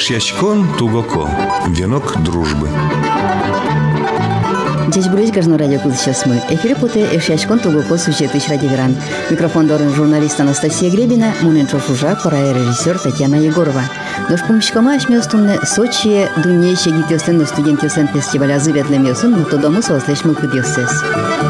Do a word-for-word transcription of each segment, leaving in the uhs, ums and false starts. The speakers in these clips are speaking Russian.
Эшьячкон тугоко. Венок дружбы. Здесь будет каждый радио сейчас мы. Эфире путе Эшьячкон тугоко существует радиоверан. Микрофон дорын журналист Анастасия Гребина, муненчов ужак, пора режиссер Татьяна Егорова. Нож помощкома ашмёстунне Сочи дунейше гитёсен студентёсен фестиваля зыветлемёсун, но то дому сослешмыл кыдёсес.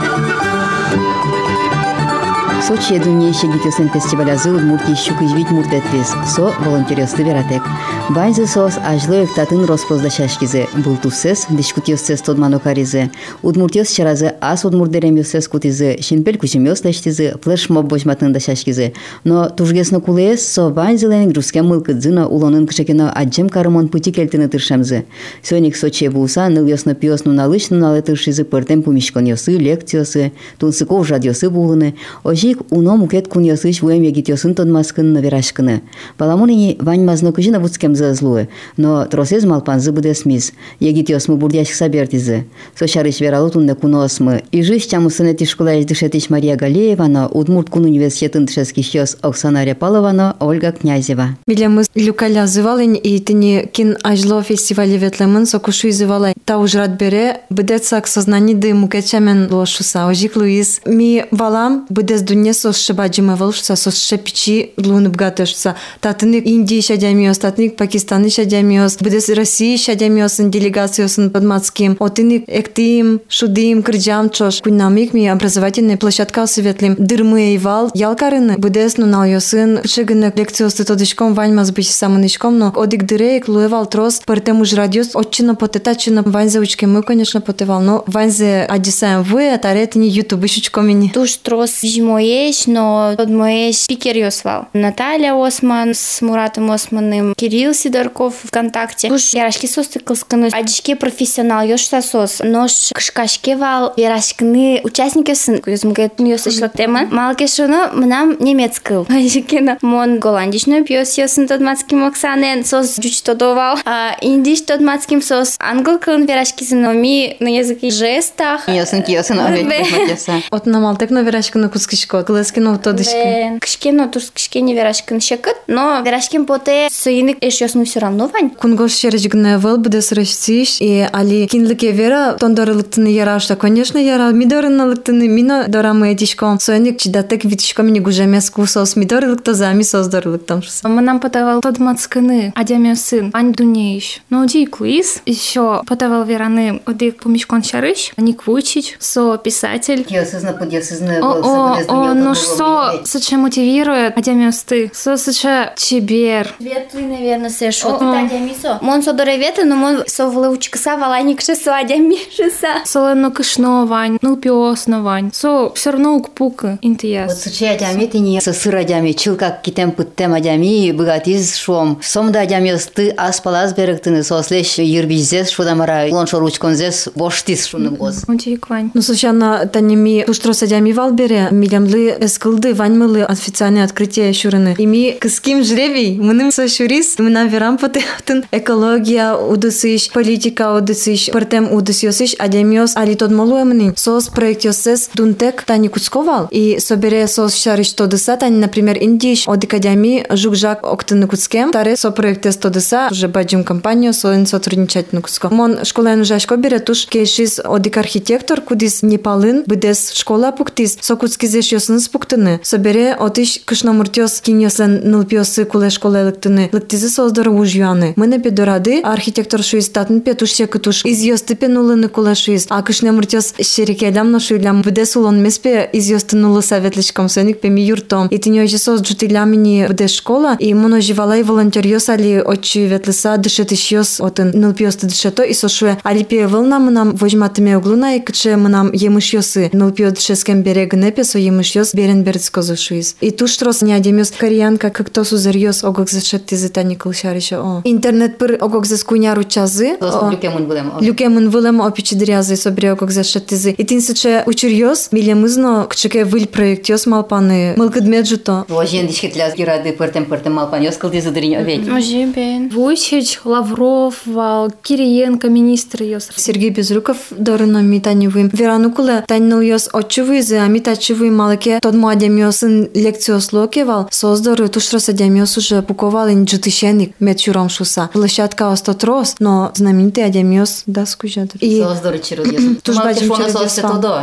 Сочи дунейше гитёсен фестиваля зы удмуртки щук извить муртетлес, со волонтерёсты вератек. Байзы сос ажлоек татын роспоздашашкизе, бултусес, дискутёсес тодманокаризе. Удмуртёс чаразы ас удмурдеремёсес кутизе, шинпель кучемёс лештизе, флешмоб божматындашашкизе. Но тужгесно кулеес со байзылен грузке мылкыдзына улонын кшекено аджем карымон пути кельтыны тыршемзе. Сёник Сочи булса нылёсно пёсну налыч нунале тыршизе пыртем пумишконёсы, лекциёсы, тунсыков жадёсы булыны. Ожик уно мукет куньёсыч вуем егитёсын тодмаскын наверашкыны. Паламуныни вань мазнокыжына вуцкем злуе, но тросез малпанзы будесмиз. Егитёс мы бурдящих собертизы. Сочарыч вералутунне куносмы. И жись чамусыне тишкулаеш дышетич Мария Галеева, но удмурт кун университетын тшескищёс Оксана Репалова, но Ольга Князева. Билемыз люкаля зывалын и тыни кин ажло фестивале ветлемын сокушу зывалай. Та ужрат бере быдецак сознани ды мукетчамен лошуса. Ожик Луиз. Ми валам быдец дунне сос шыбаджиме волшуса, сос шепичи лунып гатышса. Татыны Индии шадямиос, татыны Пакистаны шадямиос, быдец России шадямиосын делегациясын подмацким. Отыны эктим, шудим, кырджам чош. Куннамик ми образовательный площадка светлим. Дырмы вал ялкарыны быдец нуналёсын. Шыгыны лекциосты тодышком ваньмаз бычи самынышком, но одик дырейк луевал трос. Пыртем уж радиос отчина потетачина ваньзе учки мы, конечно, потевал. Но ваньзе адисаем вы, а таре не ютуб ищучкомини. Туш трос жмоеш, но под моеш спикер ёсвал. Наталья Осман с Муратом Османым, Кирилл Сидорков ВКонтакте. Туш ярашки состы кылскыны адишке профессионал ёшса сос. Нож кышкашке вал ярашкыны участники сын. Кузмгет ёсышло тема. Малкешуно мнам немецкыл. Адишкено мон голландичный пьёс ёсын тодмацким Оксанен сос жучтодовал. А индиш тодмацким сос англкын ярашки сыноми на языке жестах. Ёсын киёсын овет матеса. От намалтек на верашкыны кускишко. Глескино тодышки. Кышкено туш кышкене верашкын шекыт, но верашкин поте сыйнык эш ёсну всё равно вань. Кунгош шережгне вел бдес речсиш и али кинлике вера тондорлыктыны ярашта, конечно, яра мидорынлыктыны мино дорамы этишком. Сойник чидатек витишком не гужемеску сос мидорлыкто зами создорлыктом. Мы нам подавал тодмацкыны, адямё сын, ань дунеиш. Но дик Луиз ещё подавал вераны одик помешкон шарыш, Ник Вуйчич, со писатель. Киосызна подъесызна. О, о, ну что, соче мотивирует адямё сты, со соче чебер. Ветлы, наверное, сэшо. Адямисо. Мон со доревета, но мон со влаучкаса валаник шесо адямишеса. Солено кышно вань, ну пиосно вань. Со всё равно укпука интияс. Вот соче адями ты не со сыр адями, чил как китем путтем адями, богатиз шом. Сомда адямиос ты аспалаз берегтыны сослеш юрбизес шудамара лоншо ручконзес воштис шуным гоз. Удик вань. Ну сочана танеми уштрос адями валбере, милямлы эскылды ваньмылы официальное открытие шурыны. Ими кыским жребий, мыным со шурис, мы нам верам потехтын экология удысыш, политика удысыш, пыртем удысёсыш, адямиос али тодмолуэмны. Сос проект ёсес дунтек тани куцковал, и собере сос шариш тодыса, тани, например, индиш, одик адями жукжак октыны куцкем, таре со проекте тодыса, уже баджим компанию, соин сотрудничать куцко. Мон школен жашко бере туш кейшис одик архитектор, кудис непалын, быдес школа пуктис, со куцкизеш ёсын спуктыны. Собере отыш кышномуртёс киньёсен нылпёсы куле школе лыктыны, лыктизы создоры ужьяны. Мы на педорады, архитектор шуиз татын петушье кытуш, из ёсты пенулыны куле шуиз, а кышномуртёс шерикедам ношуйлям, быдес улон меспе из ёсты нулы советличком, соник пеми юртом. И тынёжи сос джутилямини быдес школа, и моно живалай волонтерьёс али очи ветлыса дышетыш ёс отын нылпёсты дышето, и сошуе али пие вылна мы нам возьматыме углуна, и кыче мы нам емыш ёсы нылпё дышескем берег непе, со емыш ёс берен берецкозы шуиз. И туш трос не адемёс кореянка, как то сузерьёс огок зашетти зытани кылшарыша. О. Интернет пыр огок заскуняру чазы. Люкемын вылем. Люкемын вылем опичи дрязы, собре огок зашеттизы. И тин сыче учурьёс, милемызно, кчеке выль проект ёс малпаны, мылкыдмеджуто. Вожен дишкетляз гирады пыртем-пыртем малпан ёс кылдизы дыринь оведь. Ожибен. Вуйчич, Лавров, Вал, Кириенко, министр ёс. Сергей Безруков дорыно митанивым. Веранукуле танныл ёс отчувызы, а митачувы малаке верашке тот мадемиосын лекциослоке вал создоры тушрос адемиос уже пуковал инджитышеник медчуром шуса. Площадка остатрос, но знаменитый адемиос да скужат. И создоры чирудьес. Туж бачим чирудьес.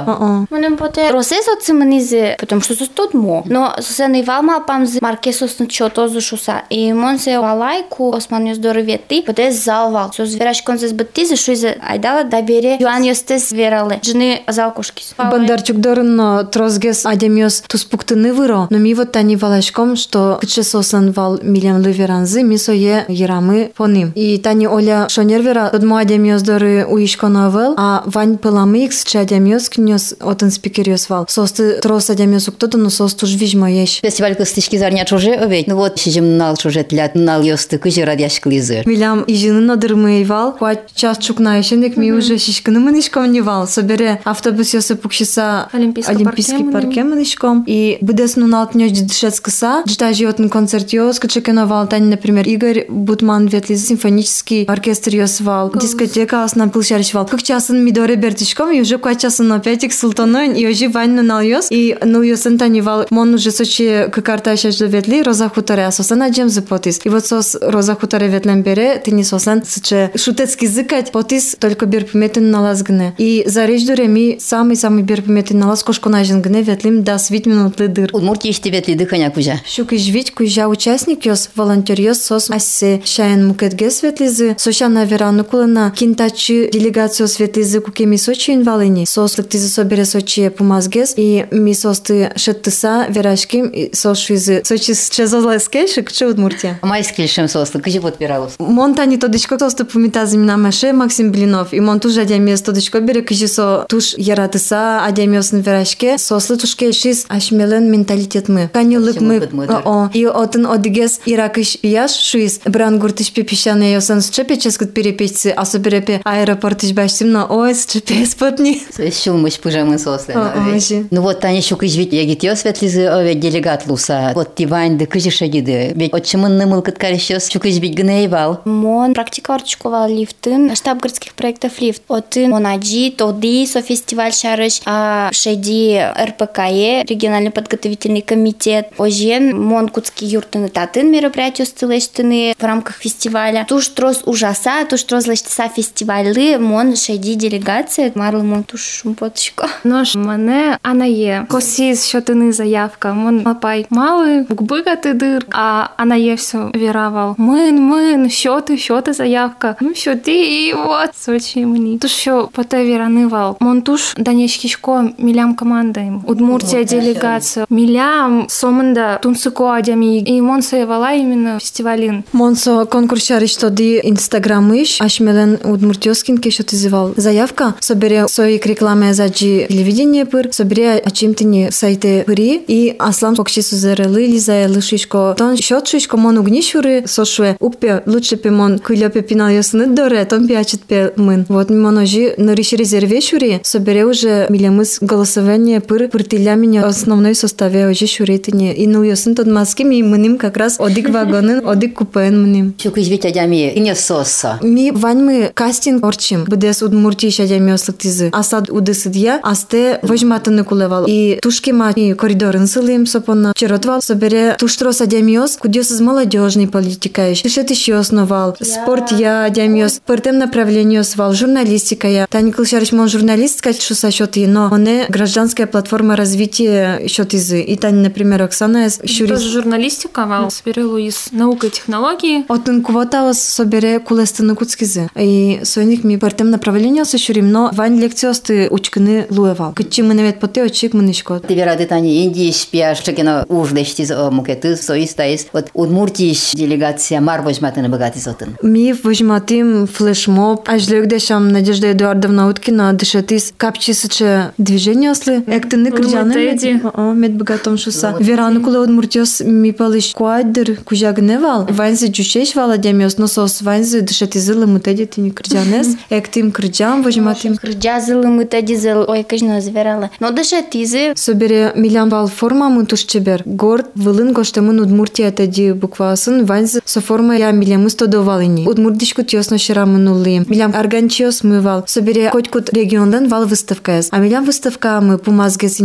Мунем поте росес от симнизе, потому что состот мо. Но се не валма памз маркесос на чото шуса. И мон се валайку осман ёздоры вети, поте залвал. Со верашкон се сбатизе шуизе айдала да бере Юан ёстес верале. Жны залкушкис. Бандарчук дорн трозгес адемиос туспуктыны выро, но ми вот тани валашком, что кыче сосан вал милем лыверанзы, мисо е ерамы по ним. И тани оля шонервера тот мо адемиос доры уишко новел, а вань пыламы икс че адемиос кнёс отын спикериос вал. Состы трос адемиос уктото, но сос туж вижмо еш. Фестиваль кыстышки зарня чуже обедь. Ну вот сижим нал чуже тлят нал ёсты кыжи радяшклизы. Милям ижины надырмый вал, куат час чукнаешенек ми уже шишканы мынышком не вал. Собере автобус ёсы пукшиса Олимпийский парке мынышком. И быдес нунал тнёч дышецкыса, джтажи отын концерт ёс, кычекено вал тани, например, Игорь Бутман ветлиз симфонический оркестр ёс вал, дискотека асна пылшарыш вал. Как часын мидоре бертишком, и уже куат часын опять ик султаноин, и уже вань нунал ёс, и ну ёсын тани вал, мон уже сочи какарта шаш ветли, роза хуторе, а сосан аджем за потис. И вот сос роза хуторе ветлем бере, ты не сосан, сыче шутецкий зыкать, потис только берпуметен налазгне. И за речь дуре самый-самый берпуметен налаз кошконажен гне ветлим да свит минутлы дыр. Удмуртии ишти ветли дыханя кужа. Шук ижвить кужа участник ёс, волонтер ёс сос ассе шаен мукетге светлизы, сошана верану кулана кинтачы делегацию светлизы кукеми сочи инвалини. Сос лыктизы собере сочи пумазгес, и ми состы шеттыса верашким, и сос шуизы сочи чезозлеске, шик че Удмуртия. Майскильшем состы, кыжи подпиралус. Монтани тодычко состы пумитазы минамаше Максим Блинов, и мон туж адемиос тодычко бере кыжи со туж яратыса адемиосын верашке, сослы тушке шиз ашмелен менталитет мы. Канюлык мы, о, и отын одигес иракыш пияш шуиз, брангуртыш пепишане ёсан счепеческут перепечцы, а соберепе аэропортыш баштим, но ой, счепе спотни. Шулмыш пужамы сослы. Ну вот тани шук ижвить ягит ёс ветлизы овет делегат луса. Вот тивань да кыжи шагиды. Ведь отчымын нымыл кыткарыш ёс шук ижвить гнеевал. Мон практика орчукова лифтын, штаб городских проектов лифт. Отын монаджи, тоди, со фестиваль шарыш, а шеди эр пэ ка е, региональный подготовительный комитет. Ожен мон кутский юртыны татын мероприятие стылештыны в рамках фестиваля. Туш трос ужаса, туш трос лештыса фестиваль мон шеди делегация, марлы мон туш шумпотышко. Нож мене анае. Косіз, що ти не заявка. Мон лапай мали, букбигати дир, а анає все віравал. Мин, мин, що ти, що ти заявка? Ну, що ти, і от, сочі мені. Туш що поте віранивал. Мон туш данешкішко мілям командаєм. Удмуртія делегація. Мілям сомында тунсыко адями. И мон соевала именно фестивалин. Монсо конкурс шарыш тоди инстаграмыш, ашмелен удмуртioскин кешо тизывал заявка. Собере соик рекламе заджи телевидение пыр, собере ачимтини сайты пыри, и аслам покши сузерелы лизаелы шишко. Тон счет шишко мон угнишуры сошуе. Укпе лучше пе мон кылёпе пинал ёсны доре, тон пиачет пе мын. Вот моножи нырыш резерве шури, собере уже милемыс голосование пыр пыртыля меня основной составе уже шуритыне. И ну ёсын тот маски ми мыним как раз одик вагонын, одик купен мыним. Шук ижвить адями ине сосса. Ми вань мы кастинг орчим. Бдес удмуртиш адями ослыктизы. Асад удысыдья, асте вожматыны кулевал. И тушки ма и коридорын сылым сопона. Черотвал собере туштрос адямиос, кудёс из молодежной политикаешь. Тышет еще основал. Спорт я адямиос. Пыртем направлению свал. Журналистика я. Тани кылшарыш мон журналист кать шуса счёты, но оне гражданская платформа развития счётызы. И тани, например, Оксана из щурис. Тоже журналистика вал. Соберелу из наука и технологии. Отын квотаос собере кулестыны куцкизы. И соник ми пыртем направлению сощурим, но вань лекциосты учкыны луевал. Кычи мы навет поте очик мынышкот. Ты верады тани Индии шпиаш, чекено ужлештиз мукеты, соистаис. Вот удмуртиш делегация мар вожматыны богатый зотын. Ми вожматым флешмоб. Ажлёгдешам Надежда Эдуардовна Уткина дышатис капчисыче движение ослы. Эктыны крыжаны мед богатом шуса. Верану куле удмуртиос ми палыш куайдыр кужагневал. Ванзы джушеш вала демиос, но сос ванзы дышатизылы мутеди тини крыжанес. Эктым крыжам вожматым. Крыжазылы мутедизыл, ой, кажно зверала. Но дышатизы. Собере милям вал форма мутушчебер. Горд вылын гоштемын удмуртия теди буквасын ванзы со форма я милямыз тодовалыни. Удмуртишку тёсно ширамын улым. Милям арганчиос мы вал. Собере хоть кут региондан вал выставка эс. А милям выставка мы пумазгесыни лыктизы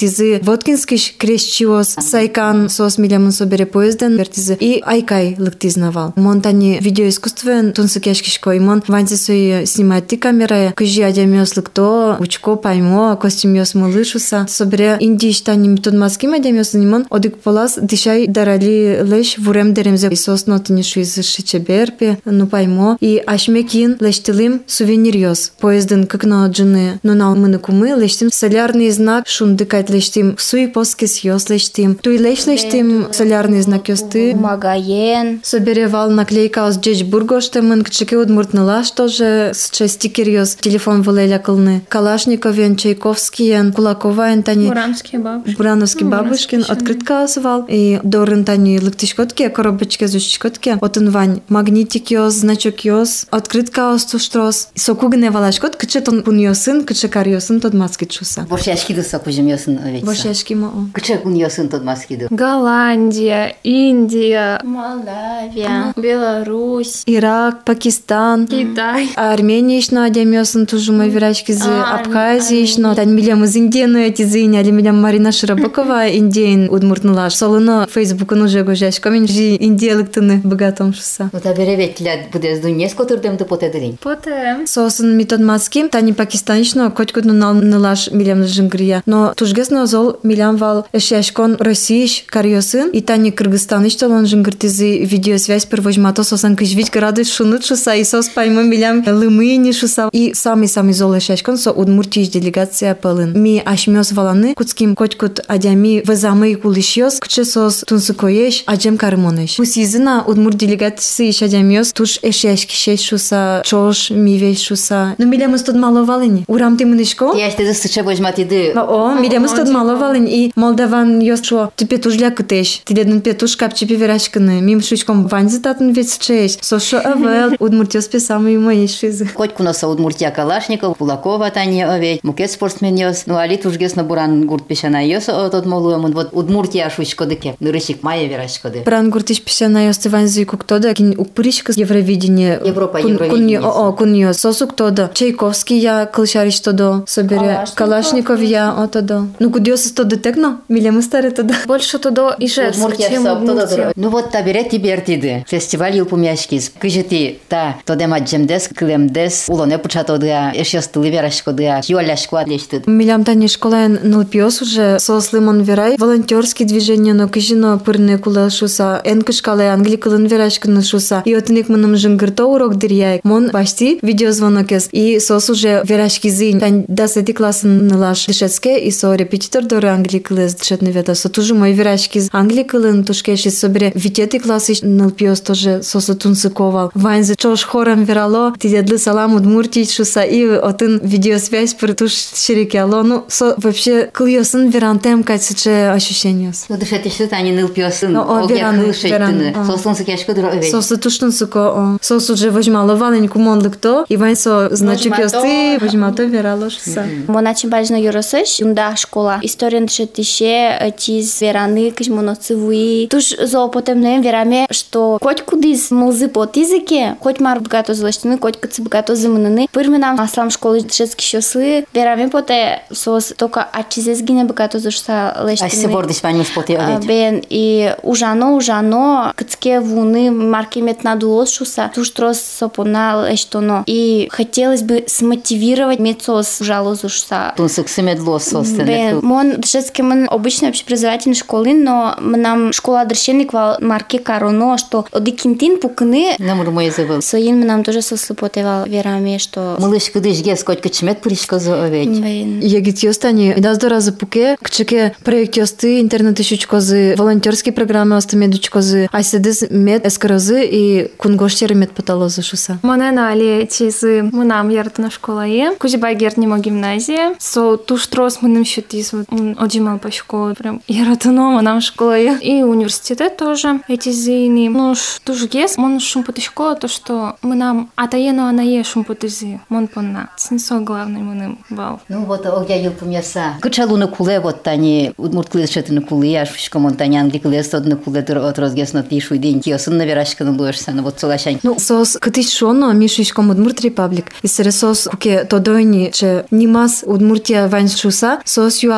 вертизы Воткинскиш крещиос сайкан сос милямын собере поезден вертизы и айкай лыктизнавал. Монтани видеоискусствен тунсыкешкишко имон ванзе сои снимать камерая кыжи адямиос лыкто учко паймо костюмиос мылышуса собере индиштани методмаски адямиос нимон одик полас дишай дарали леш вурем деремзе сос нотиниши из шичеберпе ну паймо и ашмекин лештилим сувенирьос поезден кыкно джуны нунал мыныкумы лештим солярный знак шундыкать лештим суи поскис йос лештим туй леш лештим солярный знак йосты Магаен. собере вал наклейка aus Джечбургоштемын кчеке удмуртнылаш тоже с стикер йос телефон вылеля кылны Калашниковен Чайковскиен Кулаковаен тани Бурановские бабушки. Бурановский бабушкин открытка освал и дорын тани лыктышкотке коробочке зушкотке отын вань магнитик йос значок йос открытка ос туштрос сокугне валашкот кчетон кун йосын кчекар йосын тот маски чуса Борщашки сокужим йосын овечса. Борщашки мо Кче кун йосын тот маскиду. Голландия, Индия, Молдавия. Беларусь. Ирак, Пакистан, Китай. Армения ишно адямёсын тужу мой вирачки з А, Абхазии ишно. Тань милям из Индии эти зыни, али милям Марина Широбокова Индиен удмуртнулаш. Солыно Фейсбукын уже гожаш. Комин жи индиялыктыны богатом шуса. Вот абереветля будез дуньес котурдем ты потедырин. Потом. Сосын метод маским, тани Пакистан ишно котькут нуналнылаш милям жингрия. Но тужгесно зол милям вал эшяшкон Россииш карьосын. И тани Кыргызстан ишто лон жингртизы видеосвязь первожмато сосан кыжвич грады шунут шуса и сос паймо милям лымыни шуса. И самый-самый зол эшяшкон со удмуртиш делегация пылын. Ми ашмёс валаны куцким котькут адями везамый кулышьёс кче сос тунсыкоеш аджем кармоныш. Пусизына удмурт делегациясы иш адямёс туш эшяшки шеш шуса чош мивеш шуса. Ну милям истод мало валыни. Урам ты мынышко? Я ще засыча возьматиды. О, милям истод мало валыни. И молдаван ёс шо ты петушля кытеш. Ты дедун петуш капчи пиверашканы. Мим шучком ваньзы татун вец чеш. Сошо авел удмуртёс писамый моей шизы. Котьку носа удмуртия Калашников, Кулакова тани овечь, мукет спортсмен йос. Ну али тужгес на буран гурт пешана йос от молуемын. Вот удмуртия шучко дыке. Нырышик мая верашкоды. Бран гуртиш писана йос ваньзы куктода. Кин упыришка Евровидение. Европа, Кун- Евровидение. О, о, кун йос. Сосук тодо. Чайковский я кылшариш тодо. Собере. Калашников я отодо. Ну кудиос из тодо текно? Милям старе тодо. Больше туда Ижевск, Удмуртия чем сап тодо Удмуртия. дыро. Ну вот табере тибертиды. Фестиваль юлпумяшкиз. Кыжити та тодем аджемдес, клемдес, улоне пучатодыа, эшьёс тылы верашкодыа, юаляшку атлештыд. Милям тани школаен нылпиос уже сослымон верай. Волонтерские движения, но кыжино пырны кулал шуса. Эн кышкалай англи кылын верашканы шуса. И отынек мыным жынгырто урок дыряй. Мон башти видеозвонок ес. И сос уже верашки зынь. Тань десяти классын нылаш дышецке. И со репетитор доры англи кылыз дышетны вета. Со тужу мой верашки англи кылын тушкеши собере. Витети классы нылпиос тоже сосо тунсыковал. Ваньзы чош хором верало. Ти дедлы салам удмуртий шуса. И отын видеосвязь притуш шерекяло. Ну, со вообще кыльосын верантем кайсыче ощущение. Ну дышетишты тани нылпиосын. Ну, о, Огя вераны, кылышайттыны. вераны, а. Сослынсы кешко дыро овечь. Сосо туштунсыко. Сос уже возьмало валеньку монлыкто. И вань со значок Возьмато. ёсты. Возьмато верало шуса. Моначим бажно юросыш, юнда школа. История дышетише, тиз вераны, кыш моноцевуи. Туш зо потемнем вераме, что хоть кудиз мылзы под языке, хоть мар богато злаштыны, хоть кыцы богато зымыныны. Пырмы нам аслам школы дышетски шосы. Вераме поте сос только ачизез гине богато зашса лештыны. Ась се бордиш паню споти овечь. Бен и ужано ужано кыцке вуны марки мет надулос шуса туш трос сопона лештоно. И хотелось бы смотивировать мецос жалозу шуса. Тунсык сымедло состыны. Бен, мон дышецке мы обычно общеобразовательной школы, но нам школа дырщенник вал марки кароно, что одикинтин пукны Намур мой забыл. соин мы нам тоже сослепотевал верами, что Мылыш кыдыш гес котька чмет пыришко за овечь. Бен. Егит ёстани, да здоразы пуке, кчеке проект ёсты, интернет ищучкозы, волонтерские программы остамедучкозы, айседыз мед эскорозы и кунгоштер мед паталозы шуса. Монена али чизы мынам яртына школае. Кузибай гертнемо гимназия. Со туш трос мыным щутиз оджимал по школе. Прям яртыно мынам школае. И университет тоже эти зыни. Ну ш туш гес, мон шумпуты школа, то что мынам атаено анае шумпутызи. Мон понна. Цинсо главный мыным бал. Ну вот огя юлпумяса. Кычалуны куле вот тани удмурт кылышетыны кулы, аш фишкомон тани англи кылы стодны куле дыр отрозгес на тишу день киосын на верашканы луешсаны вот солашань. Ну, сос кытыш шоно, мишишком Удмурт Репаблик. И сere сос куке тодойни, че нимас Удмуртия вань шуса, сос юа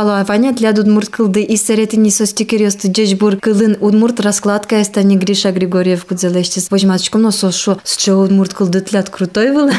вало Ваня для Удмурт кылды и соретини состикерёсты джечбур кылын Удмурт раскладка эстани Гриша Григорьев кудзелештис. Возьмачком, но сос шо с чего Удмурт кылды тлят крутой был.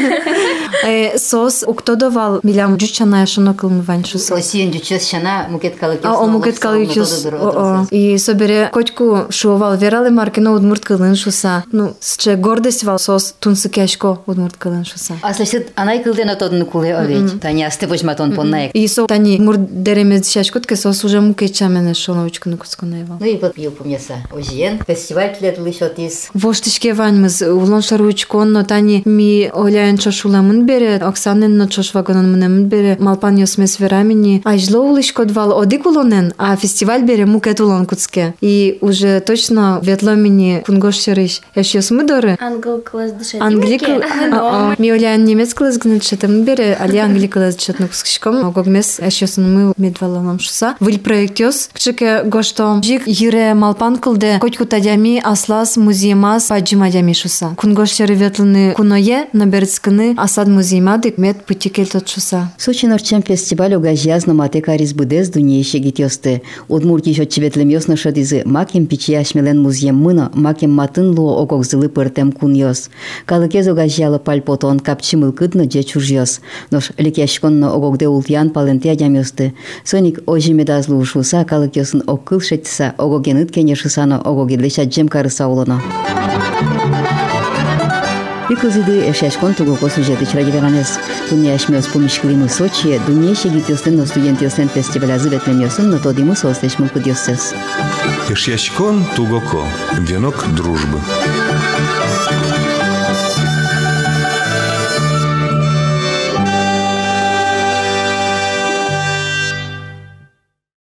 Сос уктодовал милям джучаная шоно кылмы Вань шуса. Осиен джучес шана мукет калыкес. А о мукет калыкес. И собере котку шувал вералы маркино Удмурт кылын шуса. Ну, с че гордость вал сос тунсы кешко Удмурт кылын шуса. А слышит, анай кылдена тодны куле овеч. Таня асты возьматон поннаек. И со тани мурд деремез шашкотке сос уже мукечамене шоновочку накусконайвал. Ну и вот пил помеса. Озиен фестиваль тлетли шотис. Воштишке ваньмыз улон шаручкон, но тани ми оляен чошуламын бере, Оксанен но чош вагонын мынемын бере, малпан ёсмес верамини. Ажло улышкот вал одик улонен, а фестиваль бере мукет улон куцке. И уже точно ветло мини кунгош шериш. Эш ёсмы доры? Англ класс дышать. Англик. Ми оляен немец класс гнет шетем бере, али англик класс шетну кускишком. Огогмес эш ёсын мы медвалалам шуса. Виль проект ёс. Кчеке гошто жик юре малпан кылде котку тадями аслас музеймас паджимадями шуса. Кунгош шери ветлыны куное наберцкыны асад музеймадык мед путикел тот шуса. Сочи норчем фестиваль угажязно мате карис будез дунейше гитёсты. Удмурти шот ветлем ёсно шодизы макем пичи ашмелен музеем мыно макем матын луо огогзылы пыртем кун ёс. Калыкез угажялы пальпотон капчимыл кыдно же чуж ёс. Нош лекяшконно огогде ултян паленте адям ёсты. Соник ожи медазлу шуса калык ёсын оккыл шетса огогеныт кене шусано огогедлеша джем карыса улона. Пиклзиды эшашкон тугоко сюжеты чраги Туния шмёс помишклимы Сочи, дунейше гитёстын но студент ёстен фестиваля зыветлем ёсын, но тодимы состеш мылкыд ёссес. Эшяшкон тугоко. Венок дружбы.